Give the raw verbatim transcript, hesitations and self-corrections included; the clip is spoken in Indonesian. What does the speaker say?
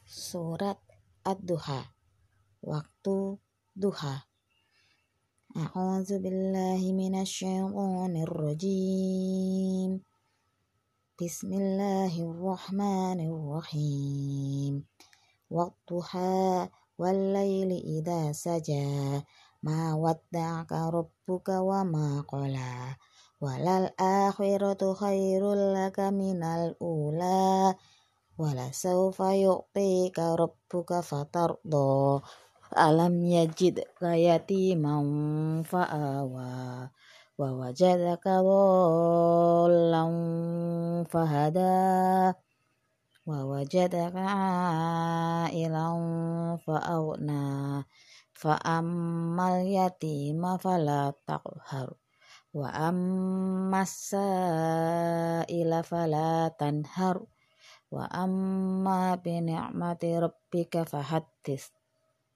Surat Ad-Duha, waktu duha. A'udzu billahi minasyaitonir rajim. Bismillahirrahmanirrahim. Wadduha wal laili idza saja. Ma wadda'aka rabbuka wa ma qala. Walal akhiratu khairul laka minal ula. Wala sawfa yu'tika rabbuka fatarda. Alam yajidka yatiman fa'awa. Wa wajadaka dhallan fahada. Wa wajadaka a'ilan fa'aghna. Fa'ammal yatima fala taqhar. Wa ammas sa'ila fala tanhar. Wa amma bi ni'mati rabbika fahaddits.